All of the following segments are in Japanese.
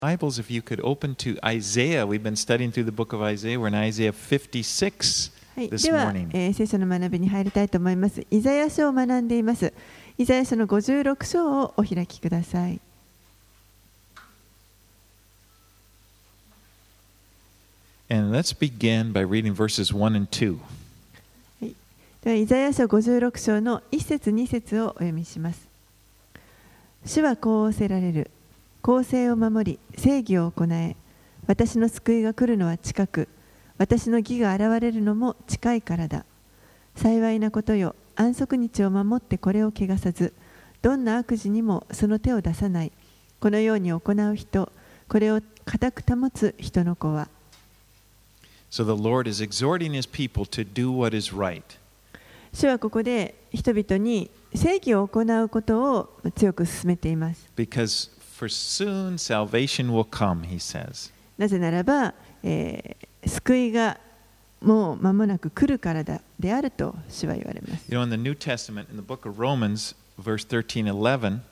Bibles, if you could open to Isaiah. We've been studying through the book of Isaiah. We're in Isaiah 56 はい、 this では、 morning. 聖書の学びに入りたいと思います。イザヤ書を学んでいます。イザヤ書の56章をお開きください。 And let's begin by reading verses 1 and 2. はい、ではイザヤ書56章の1節2節をお読みします。主はこう仰せられる。公正を守り、正義を行え。私の救いが来るのは近く、私の義が現れるのも近いからだ。幸いなことよ、安息日を守ってこれを汚さず、どんな悪事にもその手を出さない。このように行う人、これを固く保つ人の子は。 So the Lord is exhorting his people to do what is right. 主はここで人々に正義を行うことを強く勧めています。 Because for soon salvation will come, he says. なぜならば、救いがもう間もなく来るからだであると主は言われます。 You know, in the New Testament, in the book of Romans, verse 13:11,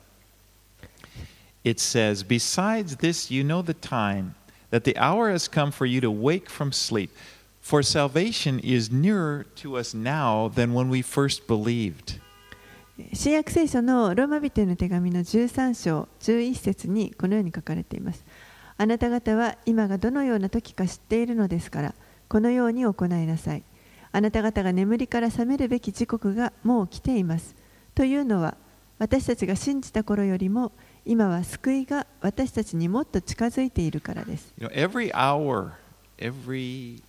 it says, Besides this, you know the time, that the hour has come for you to wake from sleep. For salvation is nearer to us now than when we first believed. 新約聖書のローマ人への手紙の13章11節にこのように書かれています。あなた方は今がどのような時か知っているのですから、このように行いなさい。あなた方が眠りから覚めるべき時刻がもう来ています。というのは、私たちが信じた頃よりも、今は救いが私たちにもっと近づいているからです。 You know, every hour, every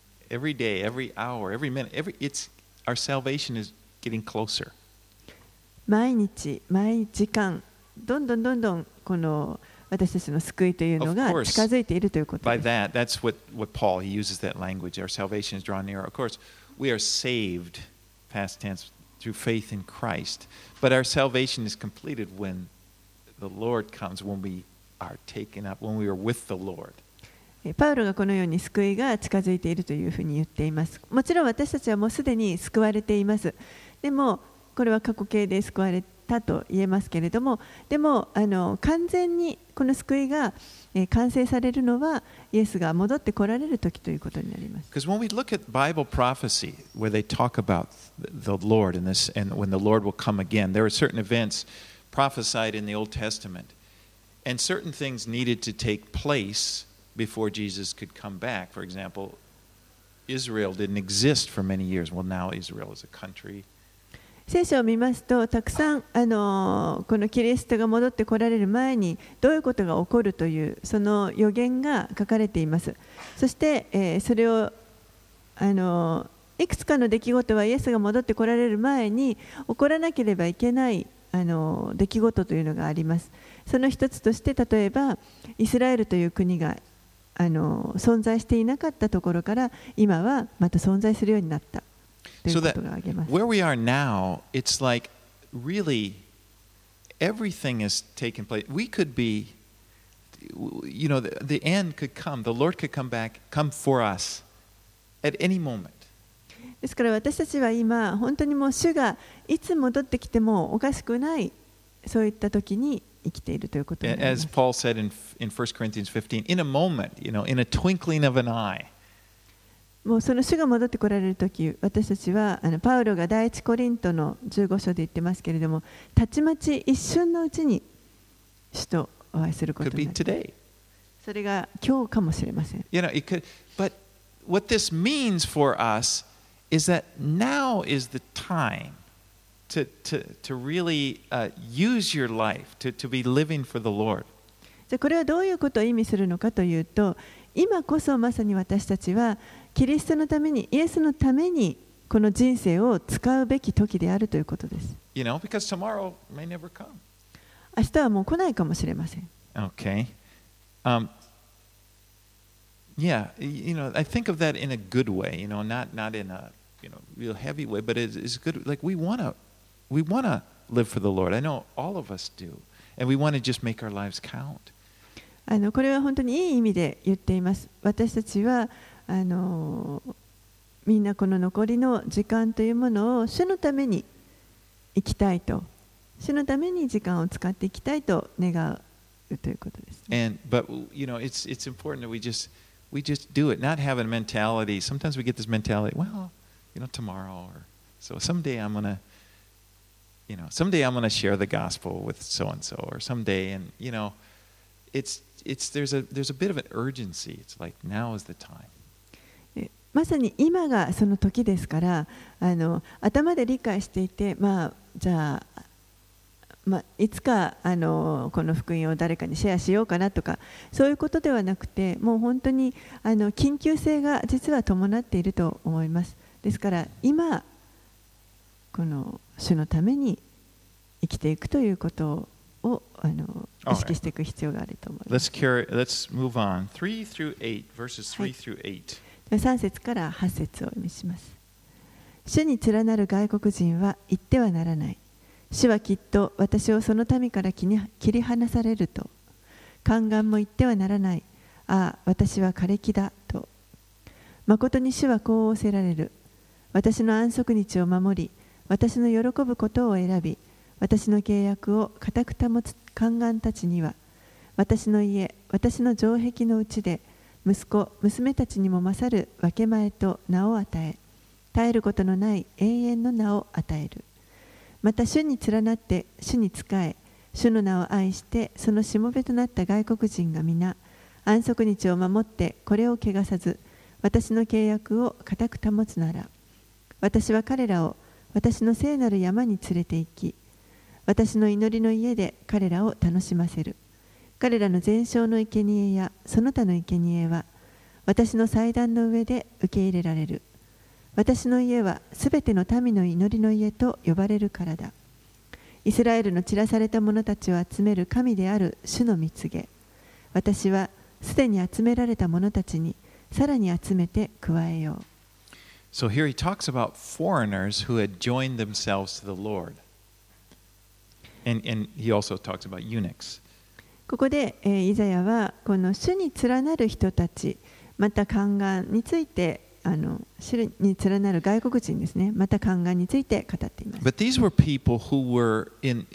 day, every hour, every minute, our salvation is getting closer. 毎日、毎時間、どんどんこの私たちの救いというのが近づいているということです。 By that, that's what Paul, he uses that language. Our salvation is drawn near. Of course, we are saved, past tense, through faith in Christ. But our salvation is completed when the Lord comes, when we are taken up, when we are with the Lord. パウロがこのように救いが近づいているというふうに言っています。もちろん私たちはもうすでに救われています。でもこれは過去形で救われたと言えますけれども、でも完全にこの救いが完成されるのはイエスが戻って来られる時ということになります。 Because when we look at Bible prophecy, where they talk about the Lord and this, and when the Lord will come again, there are certain events prophesied in the Old Testament, and certain things needed to take place before Jesus could come back. For example, Israel didn't exist for many years. Well, now Israel is a country. 聖書を見ますと、たくさんこのキリストが戻って来られる前にどういうことが起こるというその予言が書かれています。そして、それをいくつかの出来事はイエスが戻って来られる前に起こらなければいけない出来事というのがあります。その一つとして例えばイスラエルという国が存在していなかったところから今はまた存在するようになった。 So that where we are now, it's like really everything is taking place. We could be, you know, the end could come. The Lord could come back, come for us at any moment. ですから私たちは今本当にもう主がいつ戻ってきてもおかしくないそういった時に生きているということになります。 As Paul said in 1 Corinthians 15, in a moment, you know, in a twinkling of an eye. もうその主が戻ってこられるとき、私たちはパウロが第一コリントの15章で言ってますけれども、たちまち一瞬のうちに主とお会いすることになる。それが今日かもしれません。 You know, it could, but what this means for us is that now is the time to really use your life, to be living for the Lord. じゃあこれはどういうことを意味するのかというと、今こそまさに私たちはキリストのために、イエスのためにこの人生を使うべき時であるということです。 You know, because tomorrow may never come. 明日はもう来ないかもしれません。 Okay. Yeah, you know, I think of that in a good way, you know, not in a, you know, real heavy way, but it's good. Like we want to live for the Lord. I know all of us do. And we want to just make our lives count. これは本当にいい意味で言っています。私たちはみんなこの残りの時間というものを主のために生きたいと、主のために時間を使っていきたいと願うということですね。 But it's important that we just do it, not have a mentality. Sometimes we get this mentality, well, tomorrow or so someday I'm gonna share the gospel with so and so, or someday, and there's a bit of an urgency. It's like now is the time. まさに今がその時ですから、頭で理解していて、じゃあ、いつかこの福音を誰かにシェアしようかなとか、そういうことではなくて、もう本当に緊急性が実は伴っていると思います。ですから今この主のために生きていくということを意識していく必要があると思います。 Let's move on. 3 through 8, verses 3 through 8. 3節から8節をお見せします。主に連なる外国人は言ってはならない。主はきっと私をその民から切り離されると。宦官も言ってはならない。ああ、私は枯れ木だと。誠に主はこう仰せられる。私の安息日を守り、私の喜ぶことを選び、私の契約を固く保つ宦官たちには、私の家、私の城壁のうちで、息子、娘たちにも勝る分け前と名を与え、絶えることのない永遠の名を与える。また主に連なって主に仕え、主の名を愛してそのしもべとなった外国人が皆、安息日を守ってこれを汚さず、私の契約を固く保つなら、私は彼らを私の聖なる山に連れて行き、私の祈りの家で彼らを楽しませる。彼らの全焼の生贄やその他の生贄は私の祭壇の上で受け入れられる。私の家はすべての民の祈りの家と呼ばれるからだ。イスラエルの散らされた者たちを集める神である主の蜜げ。私はすでに集められた者たちにさらに集めて加えよう。 So here he talks about foreigners who had joined themselves to the Lord. And he also talks about eunuchs. ここで、イザヤはこの主に連なる人たち、また宦官について主に連なる外国人ですね、また宦官について語っています。 But these were people who were in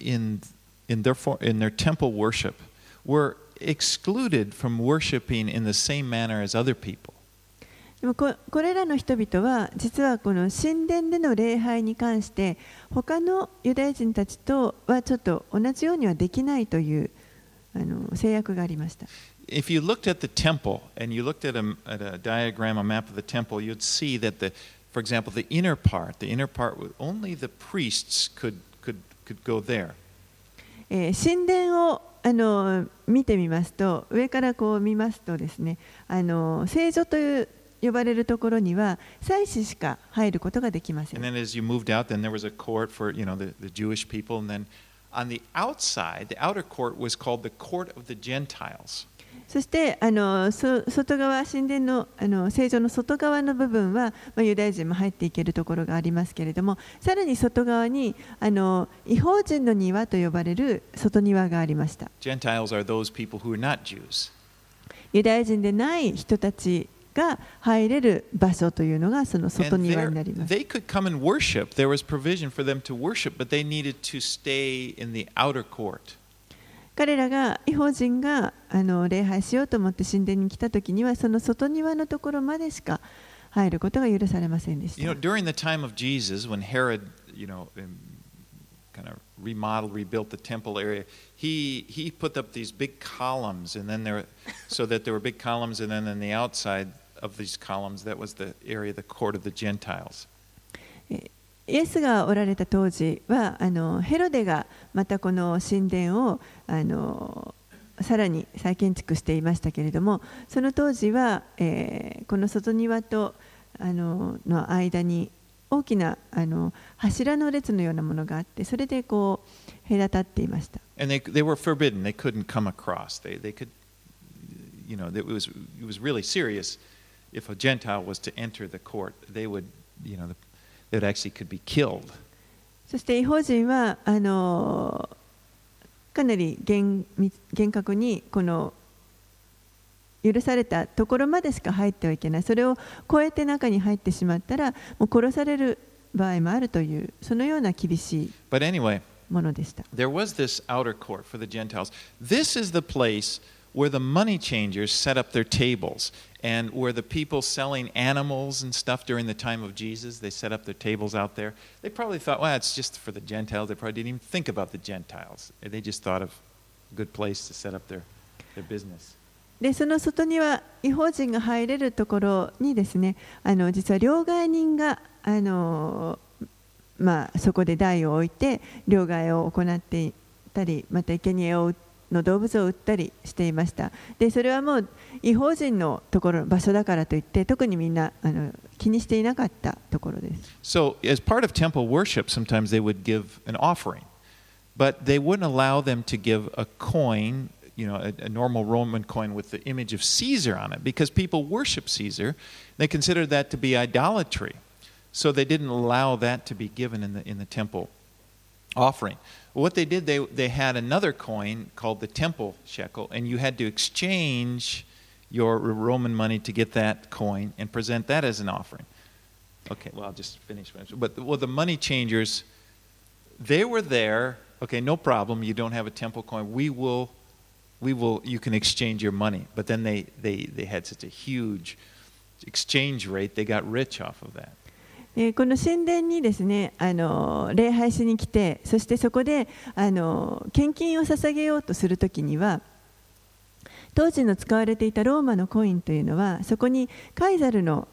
their temple worship were excluded from worshiping in the same manner as other people. でもこれらの人々は実はこの神殿での礼拝に関して他のユダヤ人たちとはちょっと同じようにはできないという制約がありました。 If you looked at the temple and you looked at a diagram, a map of the temple, you'd see that for example, the inner part, only the priests could go there. 神殿を見てみますと、上からこう見ますとですね、聖所という呼ばれるところには祭司しか入ることができません。 And then as you moved out, then there was a court for the Jewish people, and then on the outside, the outer court was called the court of the Gentiles. そして外側、神殿の聖所の外側の部分は、ユダヤ人も入っていけるところがありますけれども、さらに外側に異邦人の庭と呼ばれる外庭がありました。 Gentiles are those people who are not Jews. ユダヤ人でない人たちが入れる場所というのがその外庭になります。 They could come and worship. There was provision for them to worship, but they needed to stay in the outer court. 彼らが異邦人が礼拝しようと思って神殿に来たときにはその外庭のところまでしか入ることが許されませんでした。 During the time of Jesus, when Herod, kind of rebuilt the temple area, he put up these big columns, and then so that there were big columns, and then on the outside of these columns, that was the area, the court of the Gentiles. イエスがおられた当時はヘロデがまたこの神殿をさらに再建築していましたけれども、その当時は、この外庭との間に大きな柱の列のようなものがあって、それでこう隔たっていました。 And they were forbidden. They couldn't come across. They could, it was really serious. If a Gentile was to enter the court, they would, they actually could be killed. そして異邦人はかなり厳格にこの許されたところまでしか入ってはいけない。それを越えて中に入ってしまったらもう殺される場合もあるというそのような厳しい。 But anyway, ものでした。 There was this outer court for the Gentiles. This is the place where the money changers set up their tables, and where the people selling animals and stuff during the time of Jesus, they set up their tables out there. They probably thought, well, it's just for the Gentiles. They probably didn't even think about the Gentiles. They just thought of a good place to set up their business. でその外には異邦人が入れるところにですね、実は両替人がそこで台を置いて両替を行っていたり、また生贄の動物を売ったりしていました。でそれはもう異邦人のところ場所だからといって特にみんな気にしていなかったところです。 So as part of temple worship, sometimes they would give an offering, but they wouldn't allow them to give a coin, you know, a normal Roman coin with the image of Caesar on it, because people worship Caesar. They considered that to be idolatry, so they didn't allow that to be given in the temple offering. What they did, they had another coin called the temple shekel, and you had to exchange your Roman money to get that coin and present that as an offering. Okay, well, I'll just finish. But the money changers, they were there. Okay, no problem. You don't have a temple coin. We will. You can exchange your money. But then they had such a huge exchange rate. They got rich off of that. この神殿にですね、礼拝しに来て、そしてそこで献金を捧げようとするときには、当時の使われていたローマのコインというのは、そこにカイザルの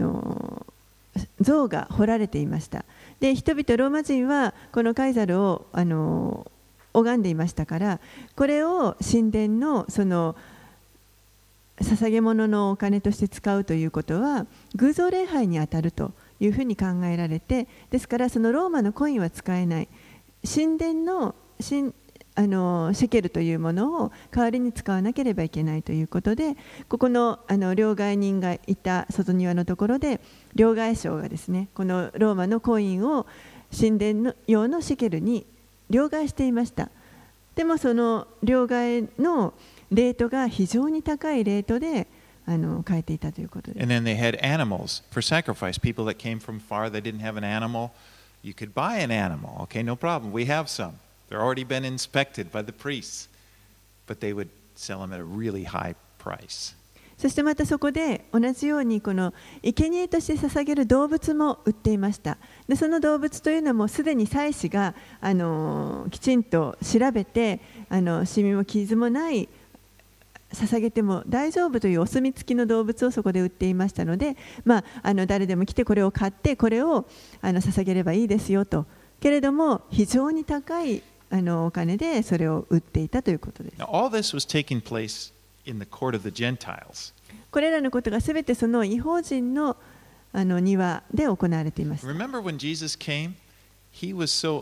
像が彫られていました。で、人々ローマ人はこのカイザルを拝んでいましたから、これを神殿のその捧げ物のお金として使うということは偶像礼拝にあたるというふうに考えられて、ですからそのローマのコインは使えない、神殿のシェケルというものを代わりに使わなければいけないということで、ここの両替人がいた外庭のところで両替商がですね、このローマのコインを神殿用のシェケルに両替していました。でもその両替のレートが非常に高いレートで変えていたということです。 And then they had animals for sacrifice. People that came from far, they didn't have an animal. You could buy an animal. Okay, no problem. We have some. They're already been inspected by the priests. But they would sell them at a really high price. そしてまたそこで同じようにこの生贄として捧げる動物も売っていました。でその動物というのもすでに祭司がきちんと調べてシミも傷もない捧げても大丈夫というお墨付きの動物をそこで売っていましたので、誰でも来てこれを買ってこれを捧げればいいですよと。けれども非常に高いお金でそれを売っていたということです。 Now, all this was taking place in the court of the Gentiles. これらのことがすべてその異邦人の庭で行われていました。 Remember when Jesus came? He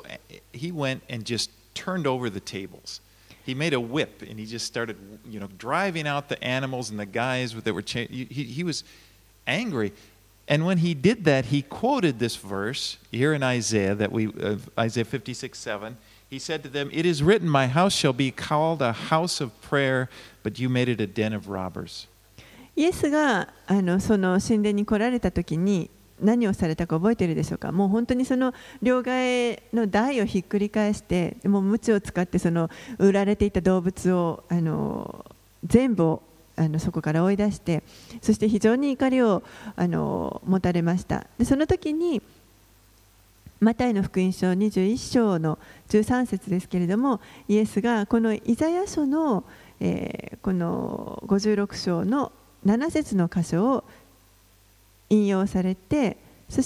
went and just turned over the tables. He made a whip and he just started, driving out the animals and the guys that were he was angry. And when he did that, he quoted this verse here in Isaiah Isaiah 56:7. He said to them, "It is written, my house shall be called a house of prayer, but you made it a den of robbers." イエスがその神殿に来られた時に何をされたか覚えているでしょうか。もう本当にその両替の台をひっくり返して、もう鞭を使ってその売られていた動物を全部そこから追い出して、そして非常に怒りを持たれました。でその時にマタイの福音書21章の13節ですけれども、イエスがこのイザヤ書の、この56章の7節の箇所を引用されて、そして、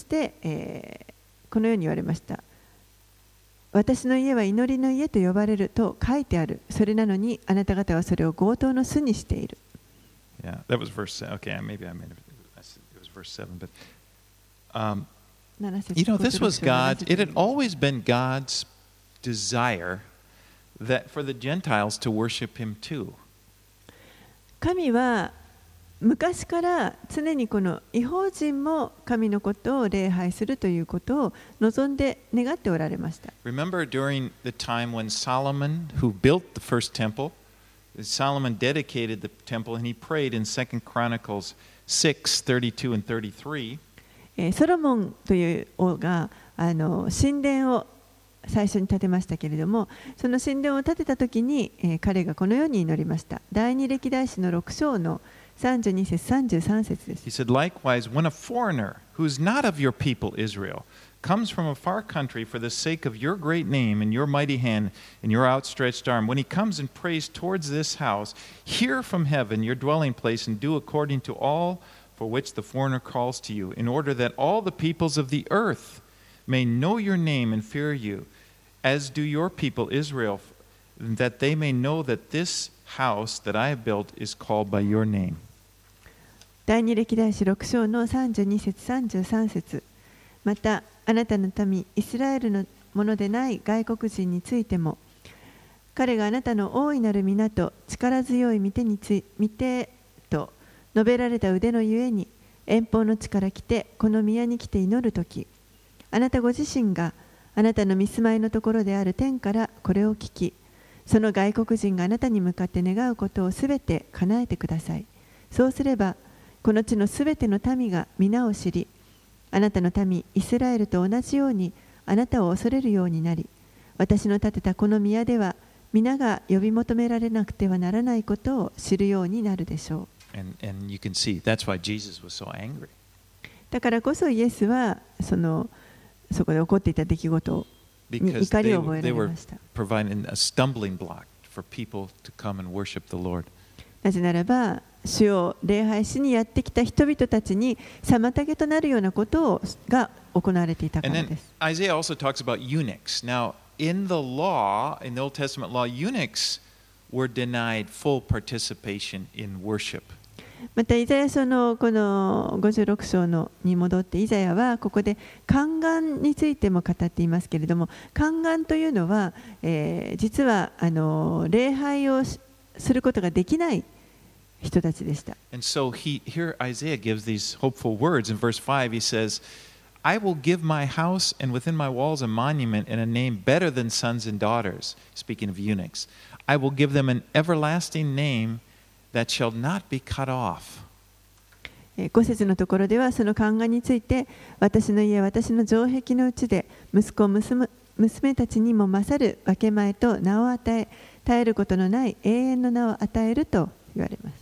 このように言われました。私の家は祈りの家と呼ばれると書いてある。それなのにあなた方はそれを強盗の巣にしている。 Yeah, that was verse 7. Okay, maybe I made it. It was verse 7, but this was God. It had always been God's desire that for the Gentiles to worship Him too. 神は昔から常にこの異邦人も神のことを礼拝するということを望んで願っておられました。 Remember during the time when Solomon, who built the first temple, Solomon dedicated the temple and he prayed in 2 Chronicles 6:32 and 33. ソロモンという王が神殿を最初に建てましたけれども、その神殿を建てた時に、彼がこのように祈りました。第二歴代史の6章の32節33節です。 He said, Likewise, when a foreigner who is not of your people Israel comes from a far country for the sake of your great name and your mighty hand and your outstretched arm, when he comes and prays towards this house, hear from heaven your dwelling place and do according to all for which the foreigner calls to you, in order that all the peoples of the earth may know your name and fear you, as do your people Israel, that they may know that this house that I have built is called by your name. 第二歴代史6章の32節33節。またあなたの民イスラエルのものでない外国人についても、彼があなたの大いなる皆と力強い御手と述べられた腕のゆえに遠方の地から来てこの宮に来て祈るとき、あなたご自身があなたの御住まいのところである天からこれを聞き、その外国人があなたに向かって願うことをすべて叶えてください。そうすればこの地のすべての民が皆を知り、あなたの民イスラエルと同じようにあなたを恐れるようになり、私の建てたこの宮では皆が呼び求められなくてはならないことを知るようになるでしょう。 And you can see that's why Jesus was so angry. だからこそイエスはそこで起こっていた出来事に怒りを覚えられました。 Providing a stumbling block for people to come and worship the Lord. なぜならば主を礼拝しにやってきた人々たちに妨げとなるようなことが行われていたからです。 Isaiah also talks about eunuchs. Now, in the law, in the Old Testament law, eunuchs were denied full participation in worship. またイザヤ書のこの56章に戻ってイザヤはここで宦官についても語っていますけれども、宦官というのは、実は礼拝をすることができない人たちでした。 And so here Isaiah gives these hopeful words. In verse 5 he says, I will give my house and within my walls a monument and a name better than sons and daughters. Speaking of eunuchs, I will give them an everlasting name that shall not be cut off. 5節のところではその宦官について、私の家、私の城壁のうちで息子、娘たちにも勝る分け前と名を与え、絶えることのない永遠の名を与えると言われます。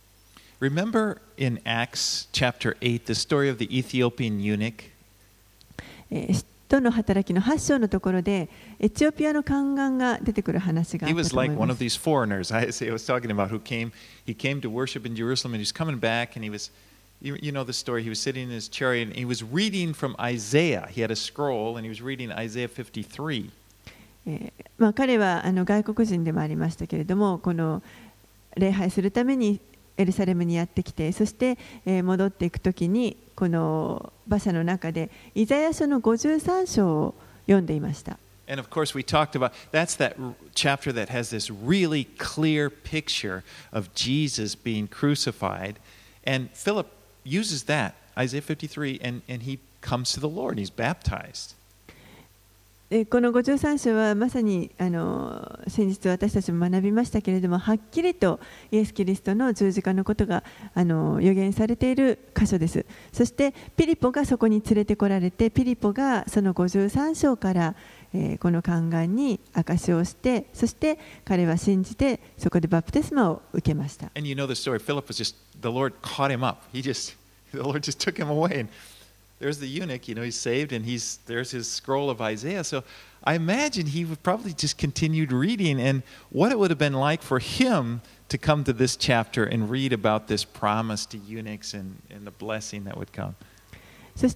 Remember in Acts chapter 8 the story of the Ethiopian eunuch? 使徒の働きの8章のところでエチオピアの宦官が出てくる話があったと思います。He was like one of these foreigners I was talking about who came to worship in Jerusalem and he was coming back and he was, you know the story, he was sitting in his chariot and he was reading from Isaiah. He had a scroll and he was reading Isaiah 53. 彼は外国人でもありましたけれども、この礼拝するためにエルサレムにやってきて、そして戻っていくときにこの馬車の中でイザヤ書の53章を読んでいました。 And of course we talked about that's that chapter that has this really clear picture of Jesus being crucified, and Philip uses that Isaiah 53 and he comes to the Lord and he's baptized. この53章はまさに先日私たちも学びましたけれども、はっきりとイエス・キリストの十字架のことが予言されている箇所です。そしてピリポがそこに連れてこられて、ピリポがその53章からこの宦官に証しをして、そして彼は信じてそこでバプテスマを受けました。 And you know the story. Philip was just the Lord caught him up. The Lord just took him away. And there's the eunuch, he's saved, and there's his scroll of Isaiah. So I imagine he would probably just continued reading, and what it would have been like for him to come to this chapter and read about this promise to eunuchs and the blessing that would come. そして、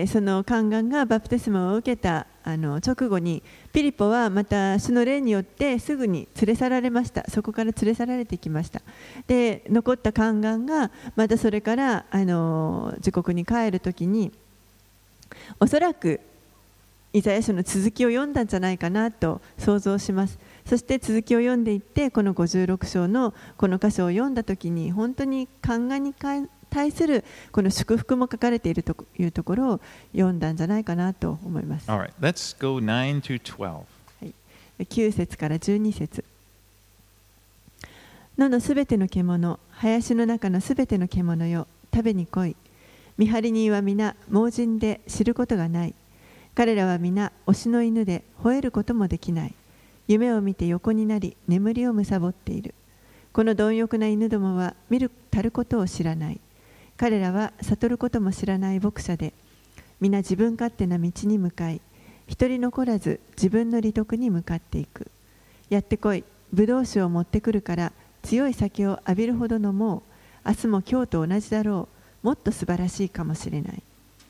その宦官がバプテスマを受けた直後にピリポはまた主の霊によってすぐに連れ去られました。そこから連れ去られてきました。で、残った宦官がまたそれから自国に帰るときにおそらくイザヤ書の続きを読んだんじゃないかなと想像します。そして続きを読んでいってこの56章のこの箇所を読んだときに本当に宦官に対するこの祝福も書かれているというところを読んだんじゃないかなと思います。 All right, let's go 9 to 12. はい、9節から12節。野のすべての獣、林の中のすべての獣よ、食べに来い。見張り人は皆盲人で知ることがない。 彼らは皆推しの犬で吠えることもできない。夢を見て横になり眠りを貪っている。この貪欲な犬どもは見るたることを知らない。彼らは悟ることも知らない牧者で、皆自分勝手な道に向かい、一人残らず自分の利得に向かっていく。やってこい、ブドウ酒を持ってくるから強い酒を浴びるほど飲もう。明日も今日と同じだろう。もっと素晴らしいかもしれない。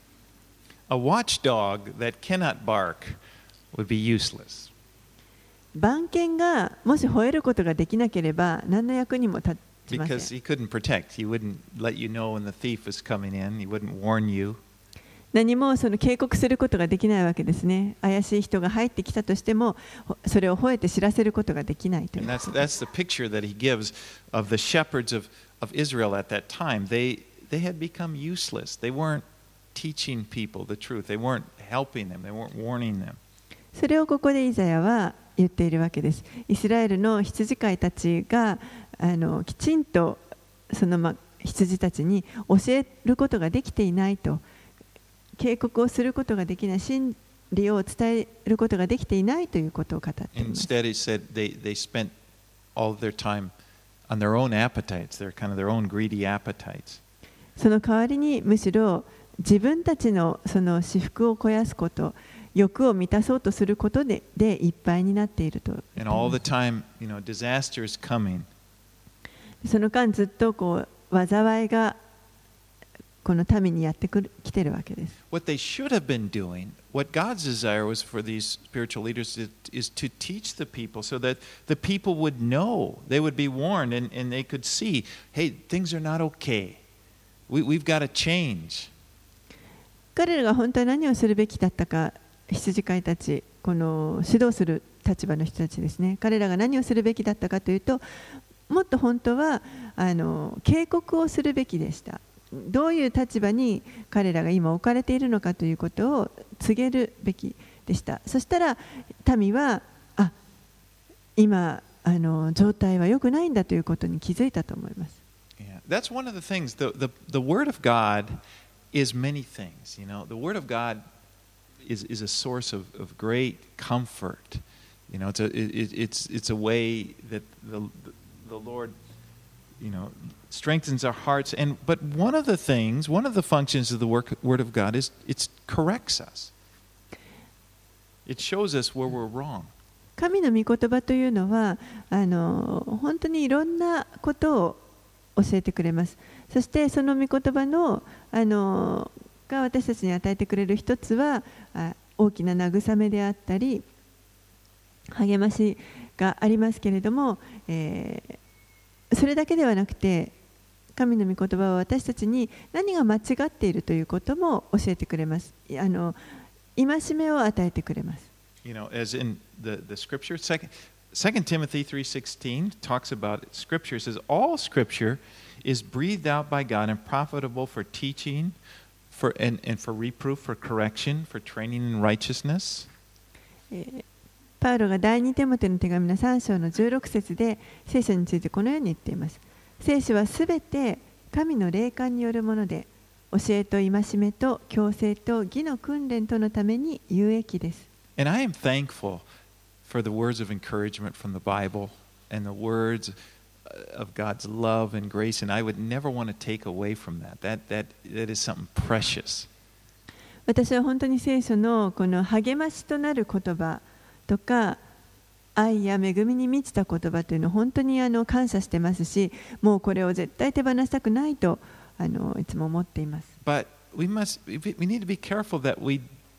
A watchdog that cannot bark would be useless. 番犬がもし吠えることができなければ何の役にも立ちません。 Because he couldn't protect. He wouldn't let you know when the thief was coming in. He wouldn't warn you. 何もその警告することができないわけですね。怪しい人が入ってきたとしても、それを吠えて知らせることができないという。 And that's the picture that he gives of the shepherds of Israel at that time. They had become useless. They weren't teaching people the truth. They weren't helping them. They weren't warning them. それをここでイザヤは言っているわけです。イスラエルの羊飼いたちがきちんとその羊たちに教えることができていないと、警告をすることができない、真理を伝えることができていないということを語っています。 Instead, he said they spent all of their time on their own appetites, their own greedy appetites. その代わりにむしろ自分たちのその私腹を肥やすこと、欲を満たそうとすることでいっぱいになっていると。 And all the time, disaster is coming. その間ずっと災いがこの民にやってきているわけです。 What they should have been doing, what God's desire was for these spiritual leaders is to teach the people so that the people would know, they would be warned and they could see, hey, things are not okay. We've got to change. 彼らが本当は何をするべきだったか、羊飼いたち、この指導する立場の人たちですね。彼らが何をするべきだったかというと、もっと本当は警告をするべきでした。どういう立場に彼らが今置かれているのかということを告げるべきでした。そしたら民は今状態は良くないんだということに気づいたと思います。 Yeah, that's one of the things. The Word of God is many things. The Word of God is a source of great comfort. It's a way that the Lord strengthens our hearts. But one of the functions of the Word of God is it corrects us. It shows us where we're wrong. 神の御言葉というのは本当にいろんなことを教えてくれます。そしてその御言葉のが私たちに与えてくれる一つは大きな慰めであったり励ましがありますけれども、それだけではなくて神の御言葉は私たちに何が間違っているということも教えてくれます。戒めを与えてくれます。 As in the scripture, 2 Timothy 3:16 talks about it. Scripture says all scripture is breathed out by God and profitable for teaching, for reproof, for correction, for training in righteousness. パウロが第2テモテの手紙の3章の16節で聖書についてこのように言っています。聖書はすべて神の霊感によるもので、教えと戒めと矯正と義の訓練とのために有益です。 And I am thankful for the words of encouragement from the Bible and the words of God's love and grace, and I would never want to take away from that. That is something precious. 私は本当に聖書のこの励ましとなる言葉とか愛や恵みに満ちた言葉というのを本当に感謝してますし、もうこれを絶対手放したくないといつも思っています。 But we need to be careful that we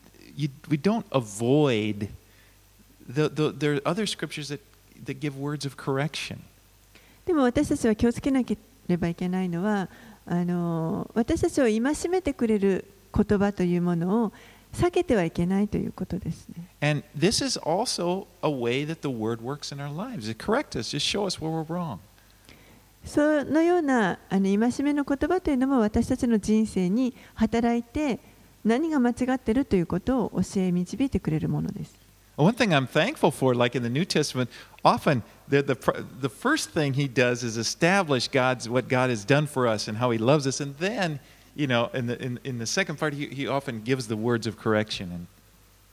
don't avoid there are other scriptures that give words of correction. でも私たちは気をつけなければいけないのは私たちを戒めてくれる言葉というものを避けてはいけないということですね。 And this is also a way that the word works in our lives. It corrects us, just show us where we're wrong. そのような戒めの言葉というのも私たちの人生に働いて何が間違っているということを教え導いてくれるものです。 One thing I'm thankful for, like in the New Testament, often the first thing he does is establish what God has done for us and how he loves us, and then in the second part he often gives the words of correction.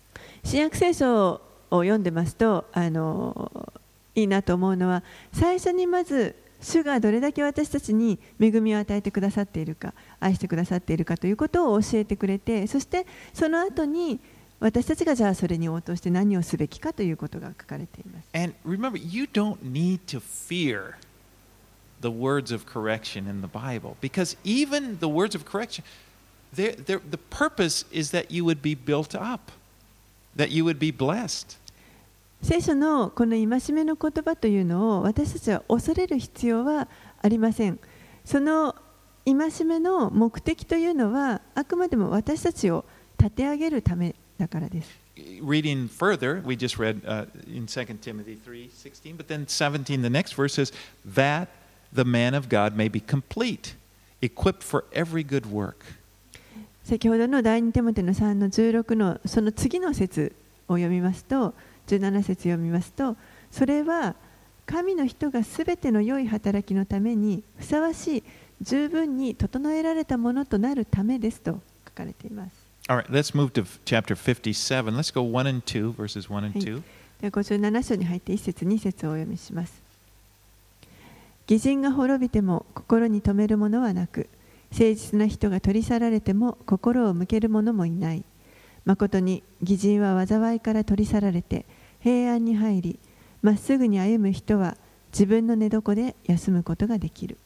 新約聖書を読んでますといいなと思うのは、最初にまず主がどれだけ私たちに恵みを与えてくださっているか、愛してくださっているかということを教えてくれて、そしてその後に私たちがじゃあそれに応答して何をすべきかということが書かれています。 And remember, you don't need to fear the words of correction in the Bible, because even the words of correction, the purpose is that you would be built up, that you would be blessed. 聖書のこの戒めの言葉というのを私たちは恐れる必要はありません。その戒めの目的というのはあくまでも私たちを立て上げるためだからです。 Reading further, we just read in 2 Timothy 3:16, but then 17, the next verse says, that the man of God may be complete, equipped for every good work. 先ほどの第2テモテの3の16のその次の節を読みますと、17節読みますと、それは神の人がすべての良い働きのためにふさわしい、十分に整えられたものとなるためですと書かれています。 All right, let's move to chapter 57. Let's go 1 and 2, verses 1 and 2. では57章に入って1節2節をお読みします。義人が滅びても心に留めるものはなく、誠実な人が取り去られても心を向ける者もいない。まことに義人は災いから取り去られて平安に入り、まっすぐに歩む人は自分の寝床で休むことができる。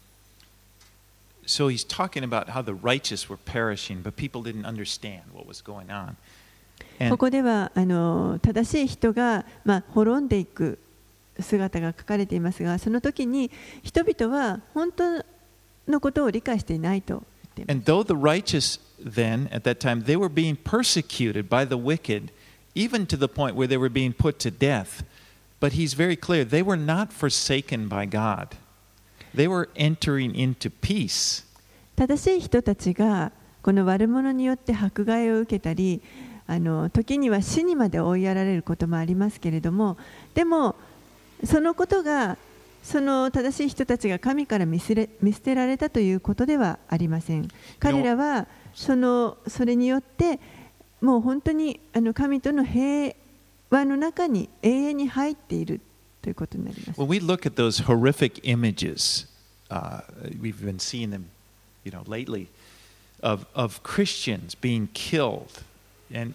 So he's talking about how the righteous were perishing, but people didn't understand what was going on. ここでは正しい人が、滅んでいく姿が書かれていますが、その時に人々は本当のことを理解していないと言っています。 And though the righteous then, at that time, they were being persecuted by the wicked, even to the point where they were being put to death. But he's very clear, they were not forsaken by God. They were entering into peace. 正しい人たちがこの悪者によって迫害を受けたり、時には死にまで追いやられることもありますけれども、でもそのことがその正しい人たちが神から見捨てられたということではありません。彼らはそれによってもう本当に神との平和の中に永遠に入っているということになります。 When we look at those horrific images, we've been seeing them, lately, of Christians being killed, and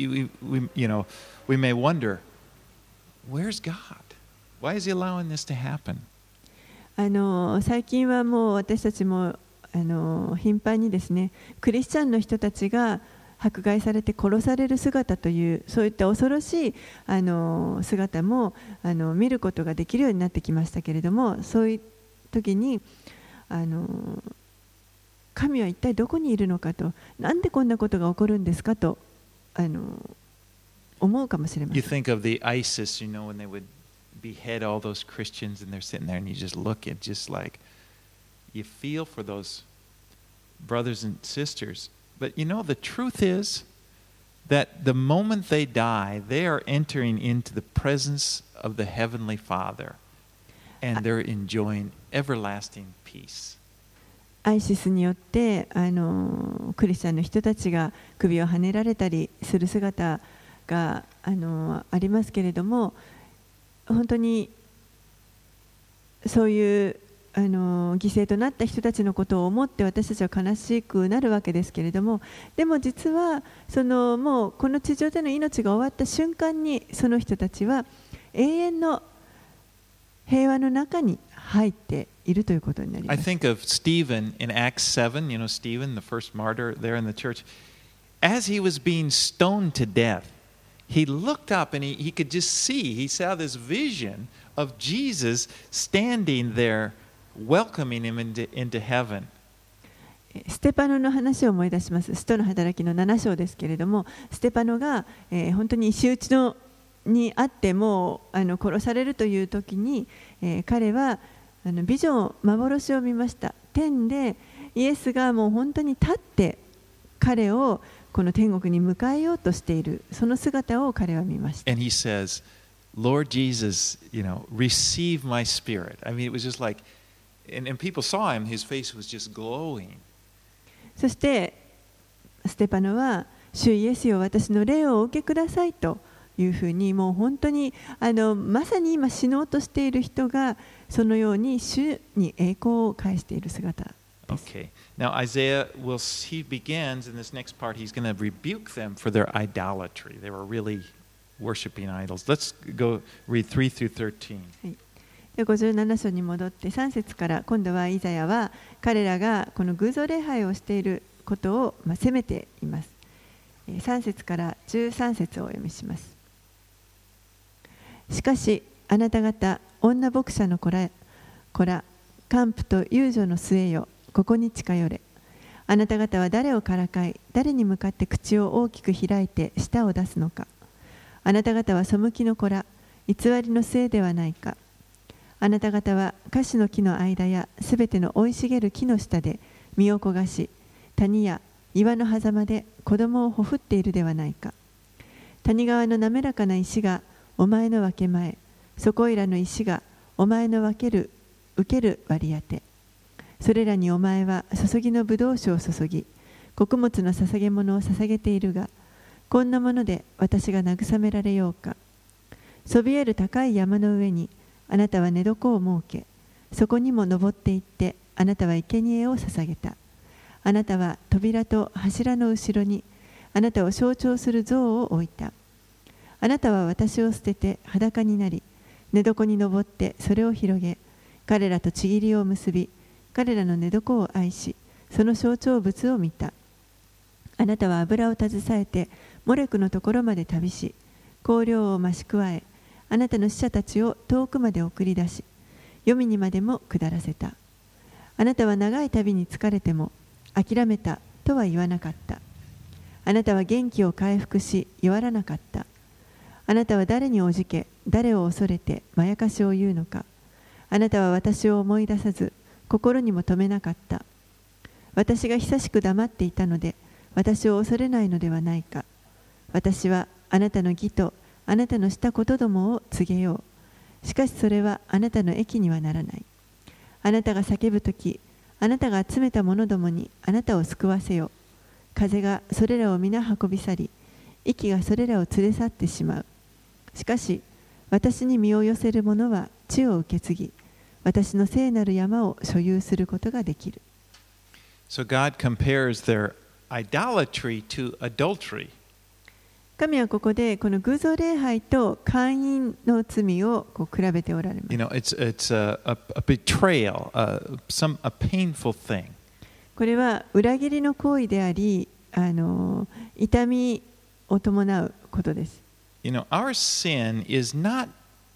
we may wonder, where's God? Why is He allowing this to happen? 最近はもう私たちも頻繁にですね、クリスチャンの人たちが迫害されて殺される姿という、そういった恐ろしい姿も見ることができるようになってきましたけれども、そういう時に神は一体どこにいるのかと、なんでこんなことが起こるんですかと思うかもしれません。 You think of the ISIS, when they would behead all those Christians and they're sitting there and you just look at just like you feel for those brothers and sisters. But the truth is that the moment they die, they are entering into the presence of the Heavenly Father and they're enjoying everlasting peace. アイシスによってクリスチャンの人たちが首をはねられたりする姿がありますけれども、本当にそういう犠牲となった人たちのことを思って私たちは悲しくなるわけですけれども、でも実はもうこの地上での命が終わった瞬間にその人たちは永遠の平和の中に入っているということになります。 I think of Stephen in Acts 7, Stephen, the first martyr there in the church. As he was being stoned to death, he looked up and he could just see, he saw this vision of Jesus standing there welcoming him into heaven. ステパノの話を思い出します。使徒の働きの7章ですけれども、ステパノが、本当に石打ちにあってもう殺されるという時に、彼はビジョン、幻を見ました。天でイエスがもう本当に立って彼をこの天国に迎えようとしている、その姿を彼は見ました。 And he says, Lord Jesus, receive my spirit. I mean, it was just like, and people saw him, his face was just glowing. そしてステパノは、 主イエスよ、私の霊をお受けくださいというふうに、もう本当にまさに今死のうとしている人がそのように主に栄光を返している姿です。 Okay. Now Isaiah he begins in this next part, he's going to rebuke them for their idolatry. They were really worshiping idols. Let's go read 3 through 13. 57章に戻って3節から今度はイザヤは彼らがこの偶像礼拝をしていることを責めています。3節から13節をお読みします。しかしあなた方女牧者の子ら姦婦と遊女の末よ、ここに近寄れ。あなた方は誰をからかい、誰に向かって口を大きく開いて舌を出すのか。あなた方は背きの子ら、偽りの末ではないか。あなた方は樫の木の間やすべての生い茂る木の下で身を焦がし、谷や岩の狭間で子供をほふっているではないか。谷川の滑らかな石がお前の分け前、そこいらの石がお前の受ける割り当て。それらにお前は注ぎの葡萄酒を注ぎ、穀物の捧げ物を捧げているが、こんなもので私が慰められようか。そびえる高い山の上にあなたは寝床を設け、そこにも登っていってあなたは生贄を捧げた。あなたは扉と柱の後ろにあなたを象徴する像を置いた。あなたは私を捨てて裸になり、寝床に登ってそれを広げ、彼らとちぎりを結び、彼らの寝床を愛し、その象徴物を見た。あなたは油を携えてモレクのところまで旅し、香料を増し加え、あなたの使者たちを遠くまで送り出し、黄泉にまでも下らせた。あなたは長い旅に疲れても諦めたとは言わなかった。あなたは元気を回復し弱らなかった。あなたは誰におじけ、誰を恐れてまやかしを言うのか。あなたは私を思い出さず、心にも留めなかった。私が久しく黙っていたので、私を恐れないのではないか。私はあなたの義とあなたのしたことどもを告げよう。しかしそれはあなたの益にはならない。あなたが叫ぶとき、あなたが集めた者どもにあなたを救わせよ。風がそれらを皆運び去り、息がそれらを連れ去ってしまう。しかし私に身を寄せる者は地を受け継ぎ、私の聖なる山を所有することができる。 So God compares their idolatry to adultery. 神はここでこの偶像礼拝と姦淫の罪を比べておられます。 You know, it's a betrayal, a painful thing. これは裏切りの行為であり、痛みを伴うことです。 You know, our sin is not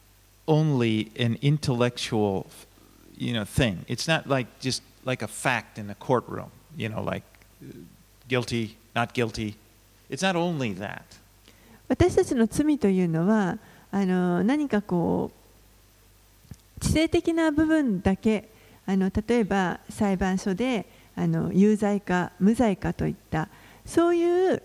only an intellectual, thing. It's not just like a fact in a courtroom, like guilty, not guilty. It's not only that. 私たちの罪というのは何か知性的な部分だけ、例えば裁判所で有罪か無罪かといったそういう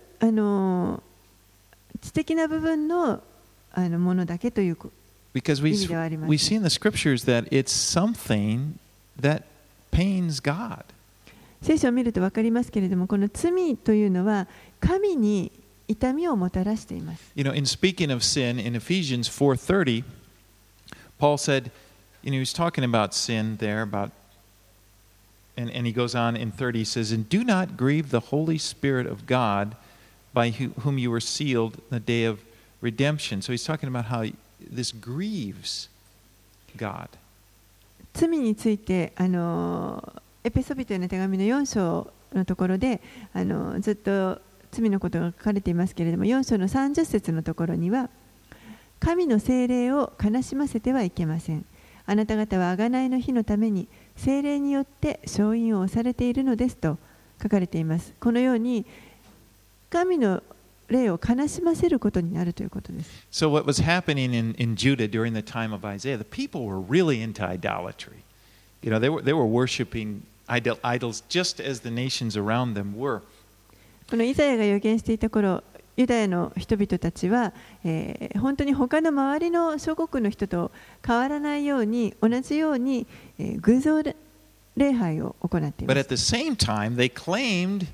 知的な部分のものだけという Because we see in the scriptures that it's something that pains God. 聖書を見ると分かりますけれども、この罪というのは神に痛みをもたらしています。 You know, in speaking of sin in Ephesians 4:30, Paul said, he was talking about sin there, and he goes on in 30, he says, "And do not grieve the Holy Spirit of God, by whom you were sealed in the day of redemption." So he's talking about how this grieves God. 罪についてエペソビトへの手紙の4章のところでずっと罪のことが書かれていますけれども、4章の30節のところには、神の聖霊を悲しませてはいけません。あなた方は贖いの日のために聖霊によって証印を押されているのですと書かれています。このように神の霊を悲しませることになるということです。 So what was happening in Judah during the time of Isaiah, the people were really into idolatry. They were worshiping idols just as the nations around them were. このイザヤが預言していた頃、ユダヤの人々たちは、本当に他の周りの諸国の人と変わらないように、同じように、偶像礼拝を行っています。 But at the same time, they claimed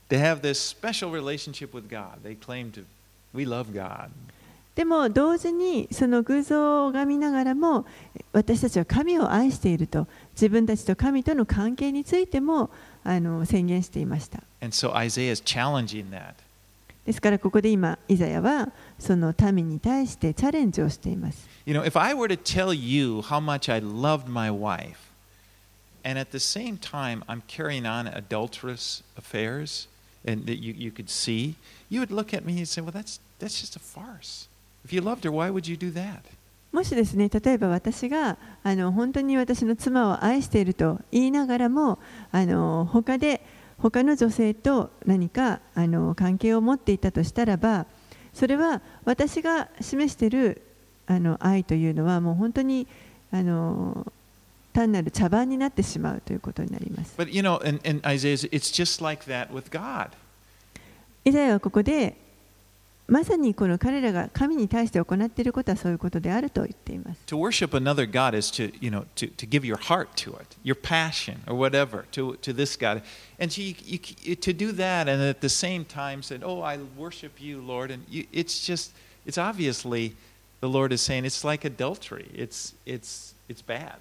They have this special relationship with God. They claim to, we love God. でも同時にその偶像を拝みながらも私たちは神を愛していると自分たちと神との関係についても宣言していました。 And so Isaiah is challenging that. ですからここで今イザヤはその民に対してチャレンジをしています。 You know, if I were to tell you how much I loved my wife, and at the same time I'm carrying on adulterous affairs, and that you could see, you would look at me and say, well, that's just a farce. If you loved her, why would you do that? もしですね、例えば私が本当に私の妻を愛していると言いながらも他の女性と何か関係を持っていたとしたらば、それは私が示している愛というのはもう本当に単なる茶番になってしまうということになります。 But you know, in Isaiah, it's just like that with God. イザヤはここでまさにこの彼らが神に対して行っていることはそういうことであると言っています。 To worship another God is to, you know, to give your heart to it, your passion or whatever to this God. And to do that and at the same time said, oh, I worship you, Lord. And it's obviously the Lord is saying it's like adultery. It's bad.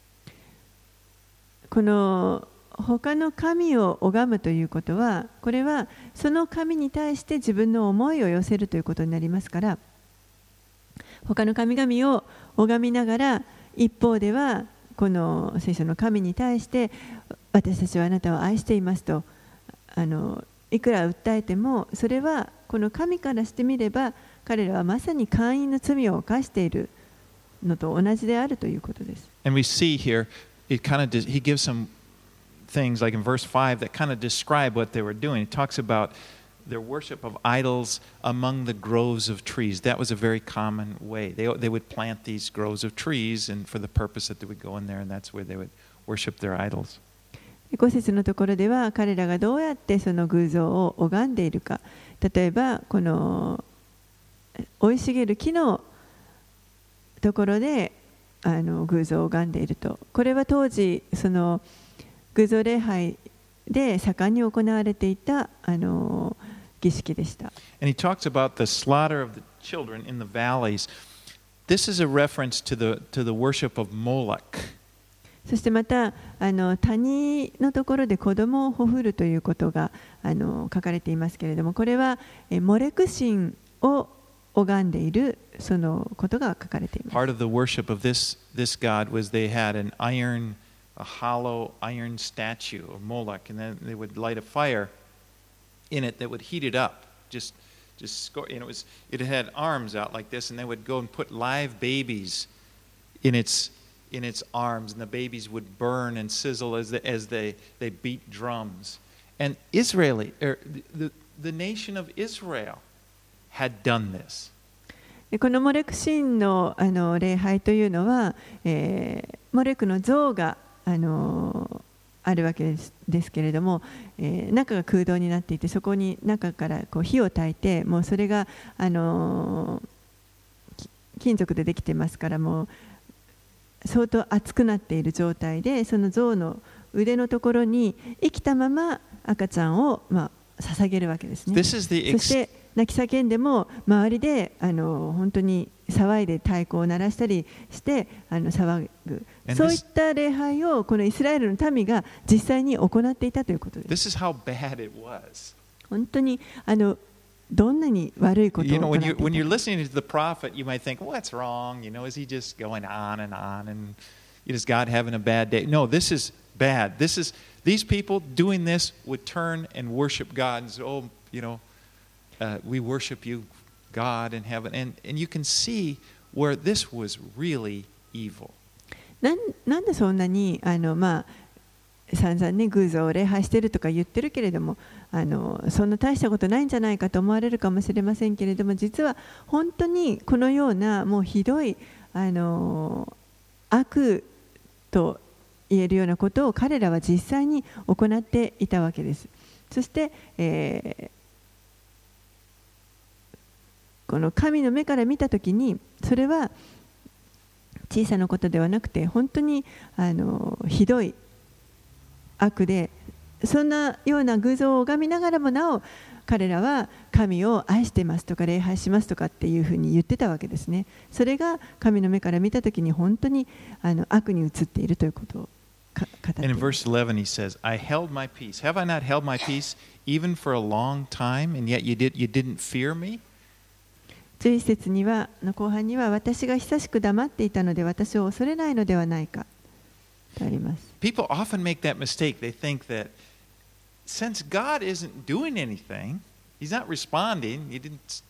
この他の神を拝むということは、これはその神に対して自分の思いを寄せるということになりますから、他の神々を拝みながら一方ではこの聖書の神に対して私たちはあなたを愛していますといくら訴えても、それはこの神からしてみれば彼らはまさに姦淫の罪を犯しているのと同じであるということです。 And we see here, he gives some things like in verse 5 that kind of describe what they were doing. It talks about their worship of idols among the groves of trees. That was a very common way. They would plant these groves of trees and for the purpose that they would go in there and that's where they would worship their idols. 5節のところでは彼らがどうやってその偶像を拝んでいるか、例えばこの生い茂る木のところで偶像を拝んでいると、これは当時その偶像礼拝で盛んに行われていた儀式でした。 And he talks about the slaughter of the children in the valleys. This is a reference to the worship of Moloch. そしてまた谷のところで子供をほふるということが書かれていますけれども、これはモレク神を拝んでいるそのことが書かれています。 Part of the worship of this god was they had a hollow iron statue of Moloch, and then they would light a fire in it that would heat it up. It had arms out like this, and they would go and put live babies in its arms, and the babies would burn and sizzle as they beat drums. And the nation of Israel had done this. このモレク神の礼拝というのは、モレクの像があるわけですけれども、中が空洞になっていてそこに中からこう火を焚いて、もうそれが金属でできてますから、もう相当熱くなっている状態でその像の腕のところに生きたまま赤ちゃんを捧げるわけですね。そして泣き叫んでも周りで本当に騒いで太鼓を鳴らしたりして騒ぐ、そういった礼拝をこのイスラエルの民が実際に行っていたということです。本当にどんなに悪いことを行っていたか。 When you're listening to the prophet, you might think, what's wrong? Is he just going on and on? And is God having a bad day? No, this is bad. These people doing this would turn and worship God and say, we worship you, God in heaven. And you can see where this was really evil. なんでそんなに散々ね偶像を礼拝しているとか言ってるけれどもそんな大したことないんじゃないかと思われるかもしれませんけれども、実は本当にこのようなもうひどい悪と言えるようなことを彼らは実際に行っていたわけです。そして、この神の目から見たときにそれは小さなことではなくて本当にひどい悪でそんなような偶像を拝みながらもなお彼らは神を愛してますとか礼拝しますとかっていうふうに言ってたわけですね。それが神の目から見たときに本当に悪に映っているということを語っています。 And in verse 11 he says, I held my peace. Have I not held my peace even for a long time, and yet you didn't fear me? 11節にはの後半には私が久しく黙っていたので私を恐れないのではないかとあります。 People often make that mistake. They think that since God isn't doing anything, He's not responding, He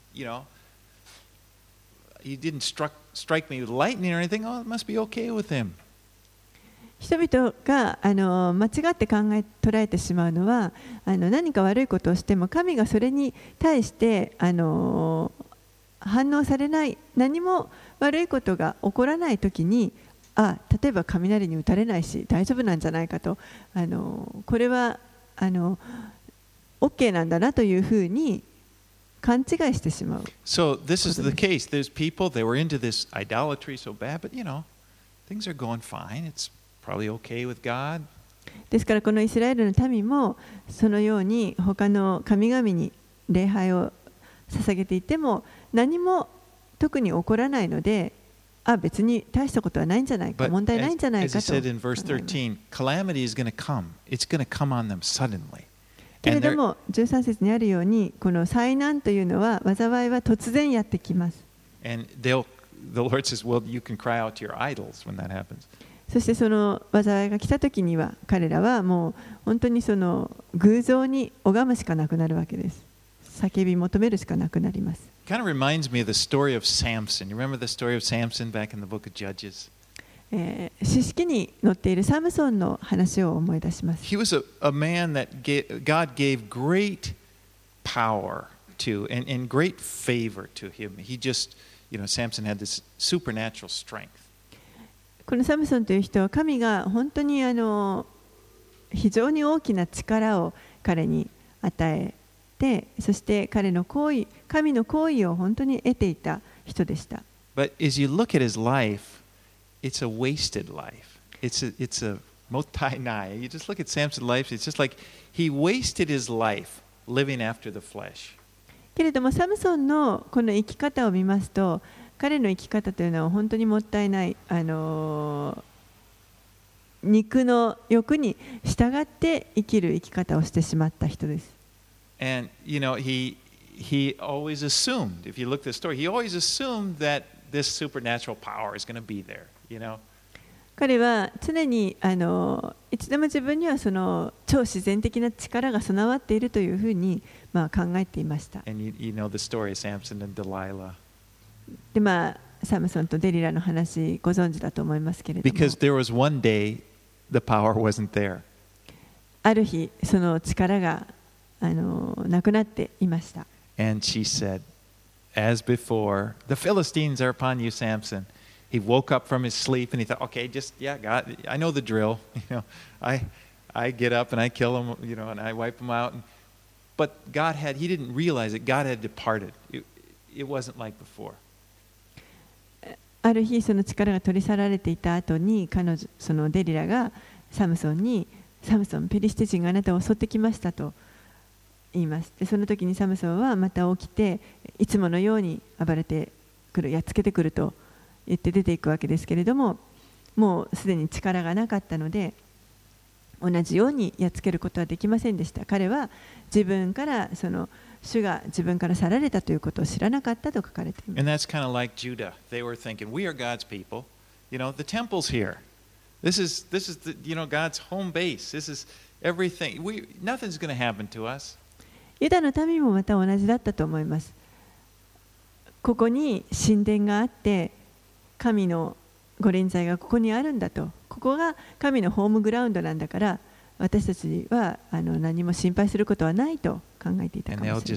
didn't strike me with lightning or anything, oh, it must be okay with Him. 人々が間違って捉えてしまうのは何か悪いことをしても神がそれに対して反応されない、何も悪いことが起こらないときに例えば雷に打たれないし大丈夫なんじゃないかとこれはOK なんだなというふうに勘違いしてしまう。 So this is the case. There's people, they were into this idolatry so bad, but things are going fine. It's probably okay with God. ですからこのイスラエルの民もそのように他の神々に礼拝を捧げていても何も特に起こらないので、別に大したことはないんじゃないか、問題ないんじゃないかと。 As he said in verse 13, calamity is going to come. It's going to come on them suddenly. けれども13節にあるようにこの災難というのは災いは突然やってきます。 And the Lord says, well, you can cry out to your idols when that happens. そしてその災いが来たときには彼らはもう本当にその偶像に拝むしかなくなるわけです。叫び求めるしかなくなります。 Kind of reminds me of the story of Samson. You remember the story of Samson back in the book of Judges? 詩式に載っているサムソンの話を思い出します。 He was a man that God gave great power to and great favor to him. He just, Samson had this supernatural strength. このサムソンという人は神が本当に非常に大きな力を彼に与えて、そして神の行為を本当に得ていた人でした。 But as you look at his life, it's a wasted life. It's a mottainai. You just look at Samson's life, it's just like he wasted his life living after the flesh. けれどもサムソンのこの生き方を見ますと、彼の生き方というのは本当にもったいない、肉の欲に従って生きる生き方をしてしまった人です。 And he always assumed, if you look at the story, he always assumed that this supernatural power is going to be there. 彼は常にいつでも自分にはその超自然的な力が備わっているというふうに考えていました。 And you know the story of Samson and Delilah. でサムソンとデリラの話ご存知だと思いますけれども。 Because there was one day the power wasn't there. ある日その力がなくなっていました。 And she said, as before, the Philistines are upon you, Samson. He woke up from his sleep and he thought, okay, God, I know the drill. I get up and I kill them, and I wipe them out. But he didn't realize that God had departed. It wasn't like before. ある日その力が取り去られていた後にそのデリラがサムソンに、サムソン、ペリシテ人があなたを襲ってきましたと言います。でその時にサムソンはまた起きていつものように暴れてくる、やっつけてくると言って出ていくわけですけれども、もうすでに力がなかったので同じようにやっつけることはできませんでした。彼は自分から主が自分から去られたということを知らなかったと書かれています。 And that's kind of like Judah. They were thinking, we are God's people. The temple's here. This is God's home base. This is everything. Nothing's going to happen to us. ユダの民もまた同じだったと思います。ここに神殿があって神の御臨在がここにあるんだと、ここが神のホームグラウンドなんだから私たちは何も心配することはないと考えていたかもしれません。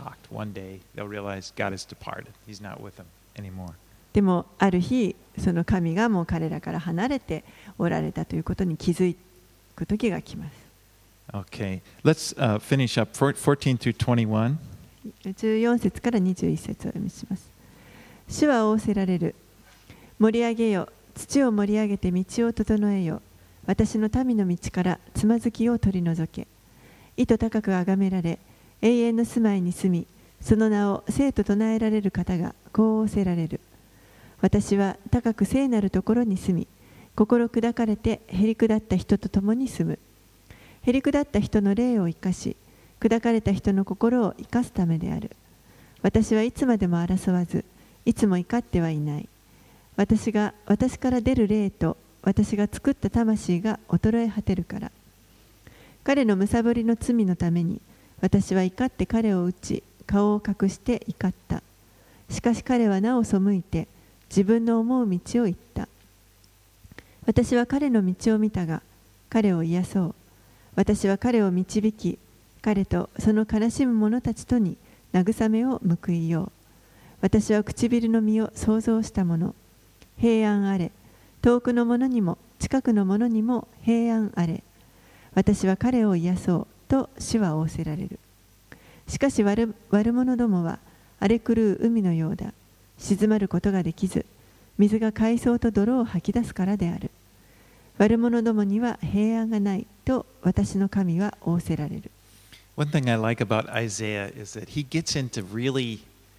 でもある日その神がもう彼らから離れておられたということに気づく時が来ます。 Okay, let's finish up 14 through 21. 14節から21節を読みします。主は仰せられる。盛り上げよ、土を盛り上げて道を整えよ。私の民の道からつまずきを取り除け。 意図高く崇められ、永遠の住まいに住み、その名を聖と唱えられる方がこう仰せられる。私は高く聖なるところに住み、心砕かれてへり下った人と共に住む。へり下った人の霊を生かし、砕かれた人の心を生かすためである。私はいつまでも争わず、いつも怒ってはいない。私から出る霊と私が作った魂が衰え果てるから。彼の貪りの罪のために、私は怒って彼を打ち、顔を隠して怒った。しかし彼はなお背いて、自分の思う道を行った。私は彼の道を見たが、彼を癒そう。私は彼を導き、彼とその悲しむ者たちとに慰めを報いよう。私は唇の実を創造したもの。平安あれ。遠くの者にも近くの者にも平安あれ。私は彼を癒そうと主は仰せられる。しかし悪者どもは荒れ狂う海のようだ。静まることができず、水が海藻と泥を吐き出すからである。悪者どもには平安がないと私の神は仰せられる。 One thing I like about Isaiah is that he gets into really,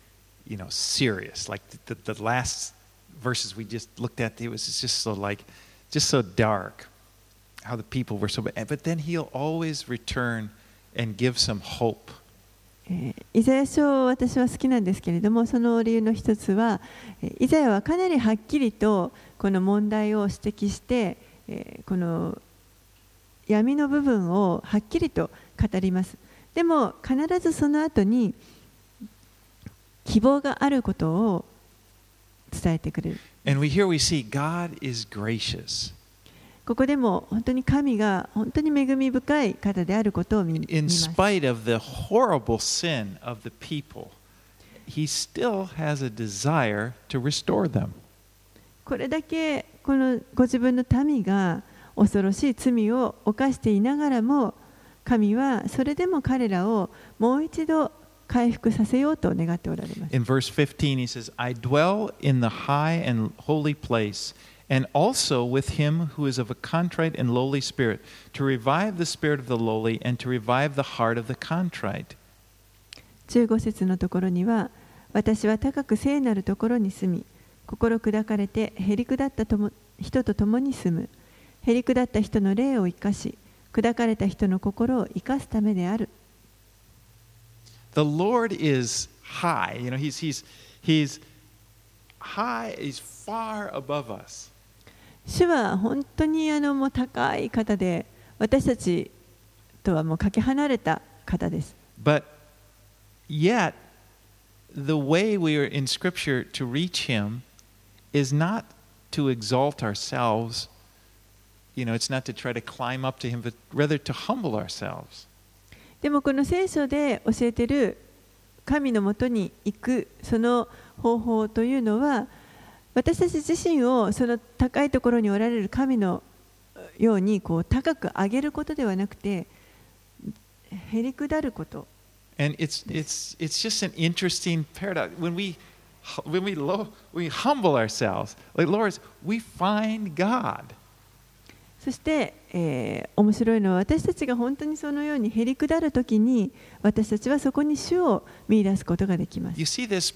serious. Like the last verses we just looked at, it was just so dark, how the people were so bad. But then he'll always return and give some hope. イザヤ書を私は好きなんですけれども、その理由の一つは、イザヤはかなりはっきりとこの問題を指摘して、この闇の部分をはっきりと語ります。でも必ずその後に希望があることを伝えてくれる。 And here we see God is gracious. ここでも本当に神が本当に恵み深い方であることを見ます。 In spite of the horrible sin of the people, He still has a desire to restore them. これだけこのご自分の民が恐ろしい罪を犯していながらも、神はそれでも彼らをもう一度回復させようと願っておられます。 In verse 15 he says, I dwell in the high and holy place, and also with him who is of a contrite and lowly spirit, to revive the spirit of the lowly and to revive the heart of the contrite. 15節のところには、私は高く聖なるところに住み、心砕かれてへり下った人と共に住む。へり下った人の霊を生かし、砕かれた人の心を生かすためである。 The Lord is high. He's high. He's far above us. 主は本当にもう高い方で、私たちとはもうかけ離れた方です。 But yet, the way we are in Scripture to reach Him is not to exalt ourselves. It's not to try to climb up to Him, but rather to humble ourselves. でもこの聖書で教えている神のもとに行くその方法というのは、私たち自身をその高いところにおられる神のように高く上げることではなくて、へり下ること。 And it's just an interesting paradox. When we humble ourselves, like Lord, we find God. そして、面白いのは、私たちが本当にそのようにへり下るときに、私たちはそこに主を見出すことができます。 You see this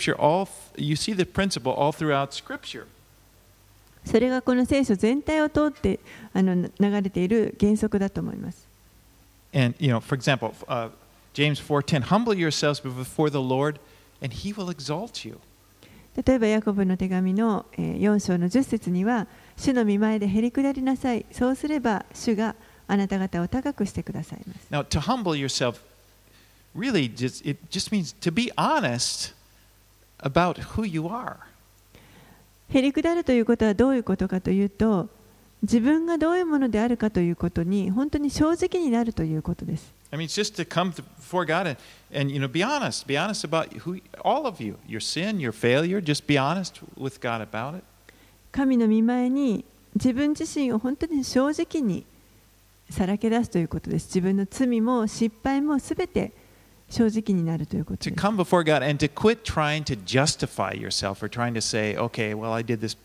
principle all throughout Scripture. それがこの聖書全体を通って流れている原則だと思います。 And for example, James 4:10, humble yourselves before the Lord, and He will exalt you. 例えばヤコブの手紙の4章の10節には、主の御前でへり下りなさい。そうすれば主があなた方を高くしてくださいます。 Now, to humble yourself really it just means to be honest about who you are. へり下るということはどういうことかというと、自分がどういうものであるかということに本当に正直になるということです。 I mean, it's just to come before God and be honest about all of you, your sin, your failure. Just be honest with God about it. 神の御前に自分自身を本当に正直にさらけ出すということです。自分の罪も失敗もすべて正直になるということです。 To come before God and to quit trying to justify yourself or trying to say, okay, well, I did this,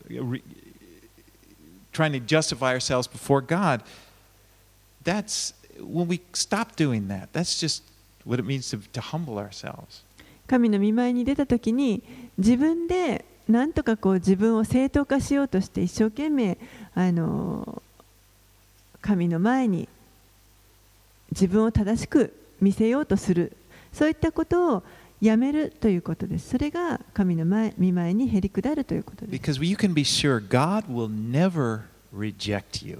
trying to justify ourselves before God. when we stop doing that, that's just what it means to humble ourselves. 神の御前に出たときに自分でなんとかこう自分を正当化しようとして一生懸命神の前に自分を正しく見せようとする、そういったことをやめるということです。それが神の御前にへりくだるということです。 Because you can be sure God will never reject you.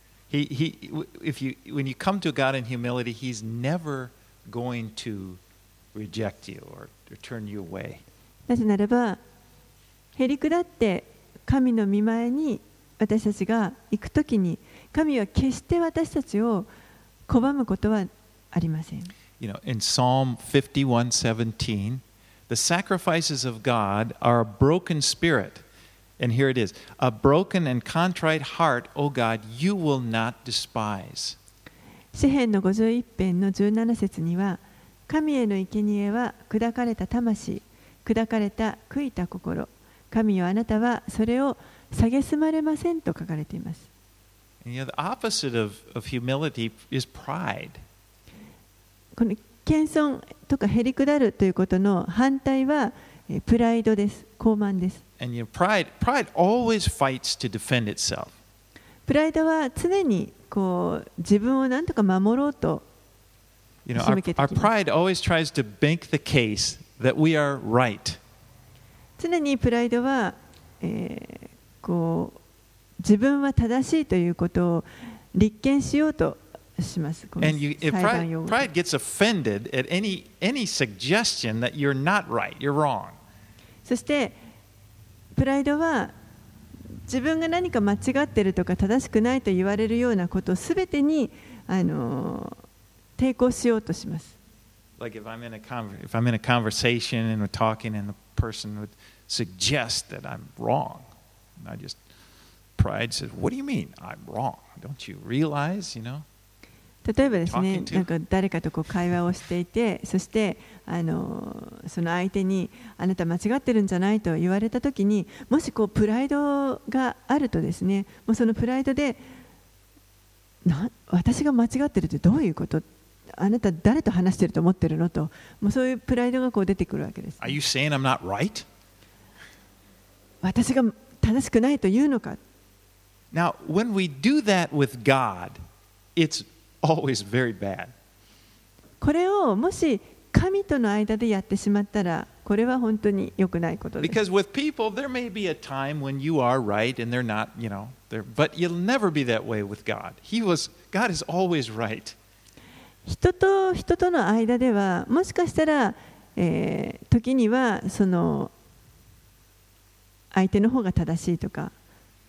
When you come to God in humility, He's never going to reject you or turn you away. なぜならば、へりくだって神の御前に私たちが行くときに、神は決して私たちを拒むことはありません。 You know, in Psalm 51:17, the sacrifices of God are a broken spirit. And here it is, a broken and contrite heart, O God, you will not despise. 詩編の51編の17節には、神への生贄は砕かれた魂、砕かれた悔いた心、神よあなたはそれを蔑まれませんと書かれています。 And, you know, the opposite of humility is pride. この謙遜とかへりくだるということの反対はプライドです。傲慢です。 And you know, pride always fights to defend itself. プライドは常にこう自分を何とか守ろうと You know, our pride always tries to make the case that we are right. 常にプライドは、こう自分は正しいということを立件しようとします。 And pride gets offended at any suggestion that you're not right, you're wrong. そしてプライドは自分が何か間違っているとか正しくないと言われるようなことすべてに抵抗しようとします。 Like if I'm in a conversation and we're talking and the person would suggest that I'm wrong, and pride says, "What do you mean I'm wrong? Don't you realize, you know?" 例えばですね、なんか誰かとこう会話をしていて、そしてその相手にあなた間違ってるんじゃないと言われたときに、もしこうプライドがあるとですね、もうそのプライドで私が間違ってるってどういうこと？あなた誰と話してると思ってるのと、もうそういうプライドがこう出てくるわけです。 Are you saying I'm not right? 私が正しくないというのか。 Now, when we do that with God, it's always very bad. これをもし神との間でやってしまったら、これは本当に良くないことです。 Because with people, there may be a time when you are right and they're not, you know, but you'll never be that way with God. God is always right. 人と人との間では、もしかしたら、時にはその相手の方が正しいとか、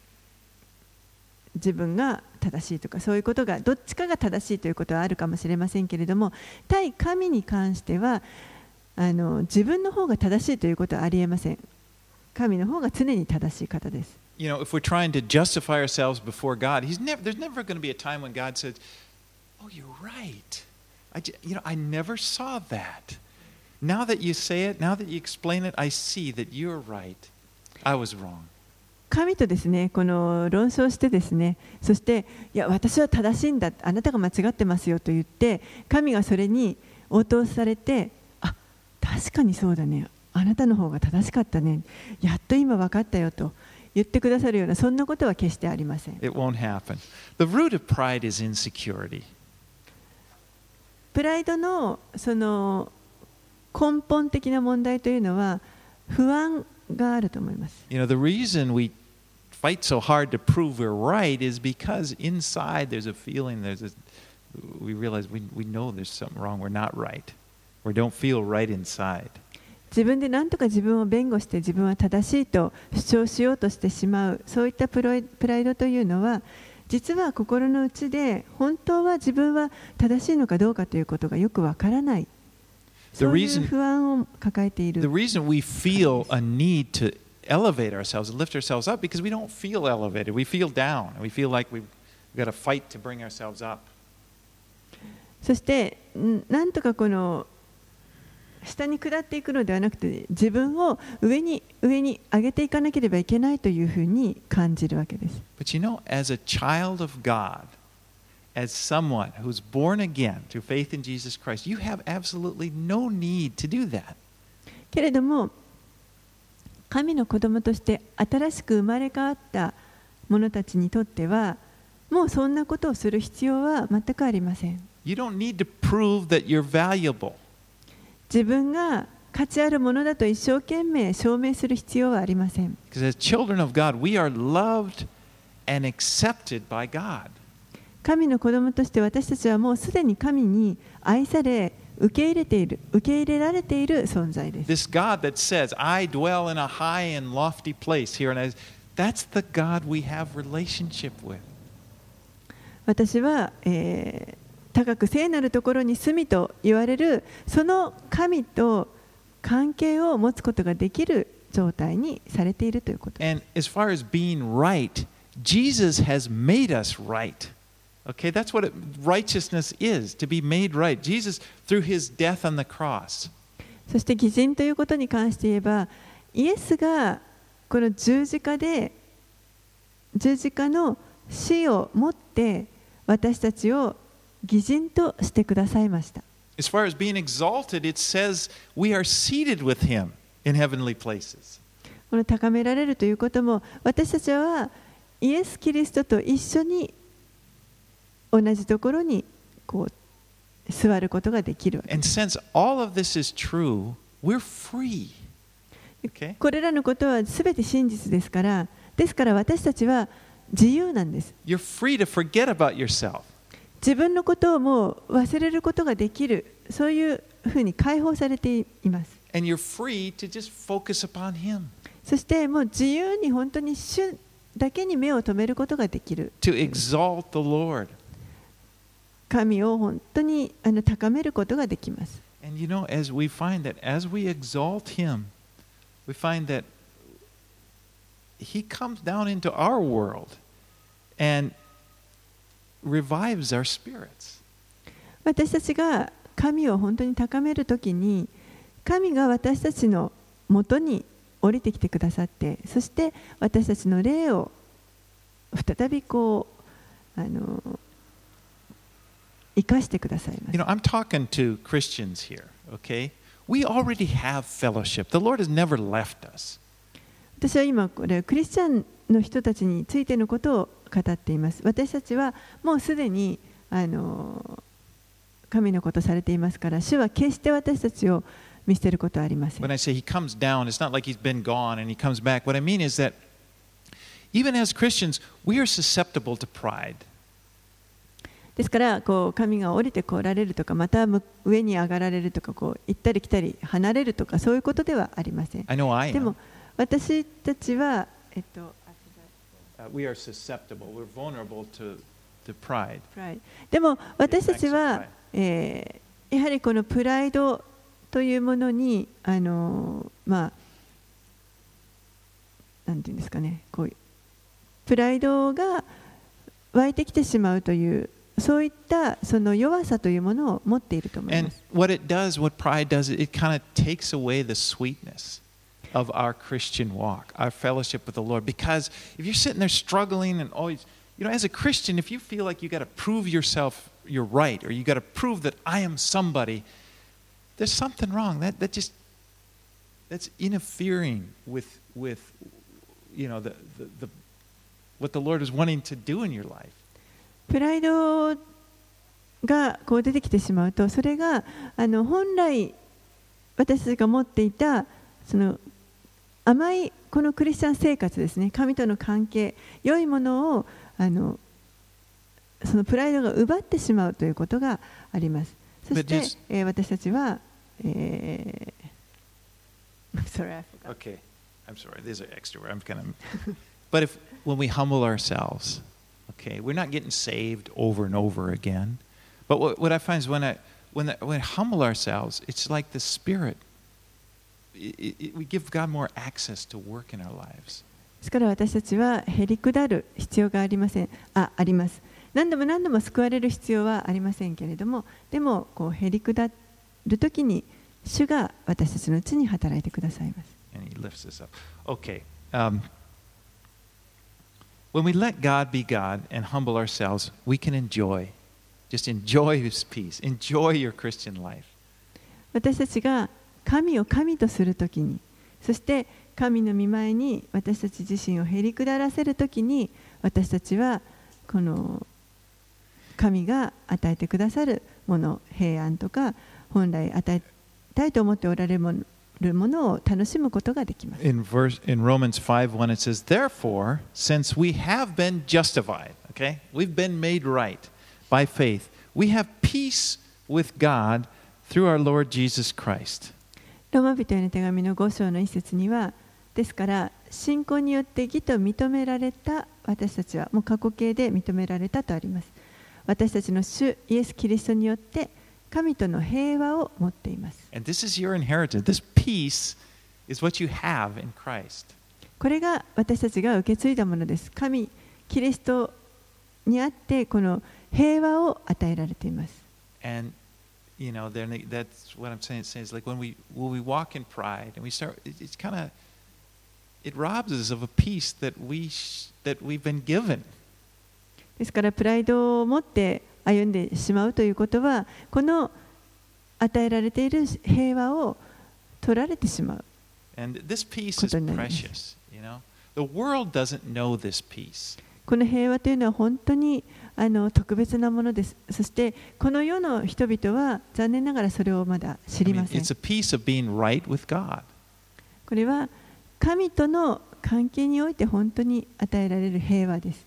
自分が正しいとか、そういうことがどっちかが正しいということはあるかもしれませんけれども、対神に関しては自分の方が正しいということはありえません。神の方が常に正しい方です。 You know, if we're trying to justify ourselves before God, there's never going to be a time when God says, "Oh, you're right. I never saw that. Now that you say it, now that you explain it, I see that you're right. I was wrong." 神とですね、この論争してですね、そしていや私は正しいんだ、あなたが間違ってますよと言って、神がそれに応答されて、あ、確かにそうだね、あなたの方が正しかったね、やっと今分かったよと言ってくださるようなそんなことは決してありません。 It won't happen. The root of pride is insecurity. プライドのその根本的な問題というのは不安があると思います。 You know, the reason we fight so hard to prove we're right is because inside there's a feeling, we realize we know there's something wrong, we're not right. We don't feel right inside. 自分で何とか自分を弁護して自分は正しいと主張しようとしてしまう、そういったプライドというのは実は心の内で本当は自分は正しいのかどうかということがよくわからない、そういう不安を抱えている。 The reason we feel a need to elevate ourselves and lift ourselves up because we don't feel elevated, we feel down, we feel like we've got to fight to bring ourselves up. そしてなんとかこの下に下っていくのではなくて、自分を上に上げていかなければいけないというふうに感じるわけです。 But you know, as a child of God, as someone who's born again through faith in Jesus Christ, you have absolutely no need to do that. けれども、神の子供として新しく生まれ変わった者たちにとっては、もうそんなことをする必要は全くありません。 You don't need to prove that you're valuable. 自分が価値あるものだと一生懸命証明する必要はありません。 Because as children of God, we are loved and accepted by God. 神の子供として私たちはもうすでに神に愛され、受け入れられている存在です。 This God that says, I dwell in a high and lofty place here, and that's the God we have relationship with. 私は、高く聖なるところに住みと言われるその神と関係を持つことができる状態にされているということです。 And as far as being right, Jesus has made us right. Okay, that's what righteousness is, to be made right. Jesus, through his death on the cross. そして義人ということに関して言えば、イエスがこの十字架の死をもって私たちを義人としてくださいました。 As far as being exalted, it says we are seated with him in heavenly places. この高められるということも、私たちはイエス・キリストと一緒に同じところにこう座ることができるわけです。 And since all of this is true, we're free. Okay? これらのことはすべて真実ですから、ですから私たちは自由なんです。 You're free to forget about yourself. 自分のことをもう忘れることができる、そういうふうに解放されています。 And you're free to just focus upon him. そしてもう自由に本当に主だけに目を留めることができる。 To exalt the Lord. 神を本当に高めることができます。 And you know, as we find that as we exalt him, we find that he comes down into our world and revives our spirits. 私たちが神を本当に高めるときに、神が私たちのもとに降りてきてくださって、そして私たちの霊を再びこう生かしてくださいます。 You know, I'm talking to Christians here, okay? We already have fellowship. The Lord has never left us. 私は今これクリスチャンの人たちについてのことを語っています。私たちはもうすでに神のことされていますから、主は決して私たちを見捨てることはありません。 When I say he comes down, it's not like he's been gone and he comes back. What I mean is that even as Christians, we are susceptible to pride. ですからこう神が降りてこられるとか、また上に上がられるとか、こう行ったり来たり離れるとか、そういうことではありません。 I know I am. でも私たちは、 We are susceptible. We're vulnerable to pride. でも私たちは、やはりこのプライドというものになんていうんですかね、こういうプライドが湧いてきてしまうという、そういったその弱さというものを持っていると思いま And す。 what pride does, it kind of takes away the sweetness of our Christian walk, our fellowship with the Lord. Because if you're sitting there struggling and always, you know, as a Christian, if you feel like you got to prove yourself you're right, or you got to prove that I am somebody, there's something wrong. That's interfering with you know what the Lord is wanting to do in your life. プライドがこう出てきてしまうと、それが本来私たちが持っていたその甘いこのクリスチャン生活ですね、神との関係、良いものをそのプライドが奪ってしまうということがあります。そして、私たちは、 Okay, I'm sorry. These are extra. I'm kind of. But when we humble ourselves, okay, we're not getting saved over and over again. But what I find is when we humble ourselves, it's like the Spirit. We give God more access to work in our lives. ですから私たちはへりくだる必要があります。何度も救われる必要はありませんけれども、でもこうへりくだるときに主が私たちのうちに働いてくださいます。 And he lifts us up. Okay. When we let God be God and humble ourselves, we can enjoy just enjoy His peace. Enjoy your Christian life. 私たちが神を神とするときに、そして神の御前に私たち自身をへり下らせるときに、私たちはこの神が与えてくださるもの、平安とか本来与えたいと思っておられるものを楽しむことができます。 In Romans 5:1 it says, Therefore, since we have been justified, okay, we've been made right by faith, we have peace with God through our Lord Jesus Christ. ローマ人への手紙の5章の一節には、ですから信仰によって義と認められた私たちは、もう過去形で認められたとあります。私たちの主イエス・キリストによって神との平和を持っています。 And this is your inheritance. This peace is what you have in Christ. これが私たちが受け継いだものです。神、キリストにあってこの平和を与えられています。 And you know, that's what I'm saying. It says like when we walk in pride and we start, it's kind of, it robs us of a peace that we've been given. ですからプライドを持って歩んでしまうということは、この与えられている平和を取られてしまう。 And this peace is precious, you know. The world doesn't know this peace. この平和というのは本当に特別なものです。そしてこの世の人々は残念ながらそれをまだ知りません。 It's a peace of being right with God. これは神との関係において本当に与えられる平和です。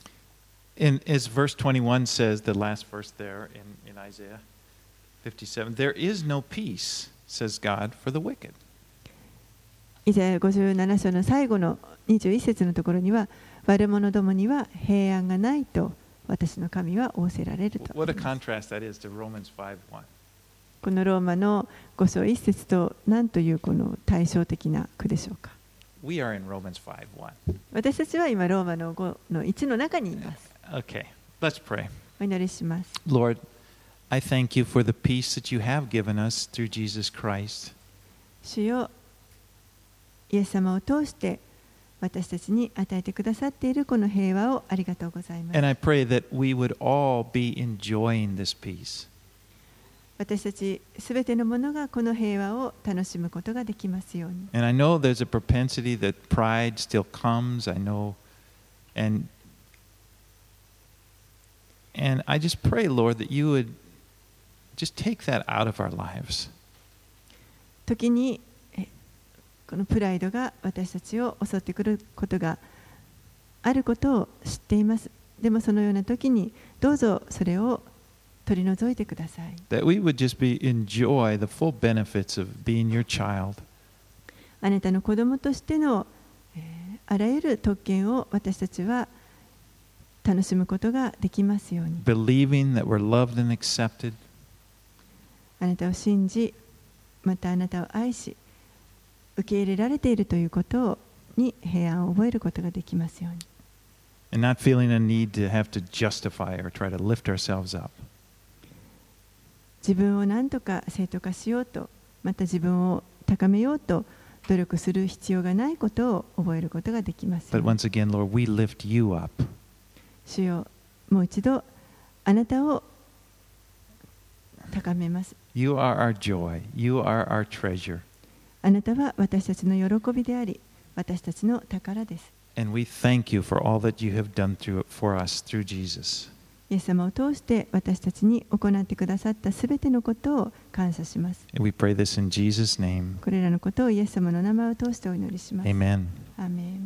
As verse 21 says, the last verse there in Isaiah 57, there is no peace, says God, for the wicked. イザヤ57章の最後の21節のところには、悪者どもには平安がないと私の神は仰せられると。 What a contrast that is to Romans 5:1. このローマの5章1節と何というこの対照的な句でしょうか。 We are in Romans 5:1. 私たちは今ローマの5の1の中にいます。 Okay, let's pray. お祈りします。 Lord, I thank you for the peace that you have given us through Jesus Christ. 主よ、イエス様を通して私たちに与えてくださっているこの平和をありがとうございます。 And I pray that we would all be enjoying this peace. 私たちすべてのものがこの平和を楽しむことができますように。 And I know there's a propensity that pride still comes, I know, and I just pray, Lord, that you would just take that out of our lives. 時にこのプライドが私たちを襲ってくることがあることを知っています。でもそのような時にどうぞそれを取り除いてください。 That we would just enjoy the full benefits of being your child. あなたの子供としてのあらゆる特権を私たちは楽しむことができますように。 Believing that we're loved and accepted. あなたを信じ、またあなたを愛し、受け入れられているということに平安を覚えることができますように。 And not feeling a need to have to justify or try to lift ourselves up. 自分を何とか正当化しようと、また自分を高めようと努力する必要がないことを覚えることができます。 But once again, Lord, we lift you up. 主よ、もう一度あなたを高めます。 You are our joy. You are our treasure. あなたは私たちの喜びであり、私たちの宝です。 And we thank you for all that you have done for us through Jesus. イエス様を通して私たちに行ってくださったすべてのことを感謝します。 And we pray this in Jesus' name. これらのことをイエス様の名前を通してお祈りします。 Amen. アーメン。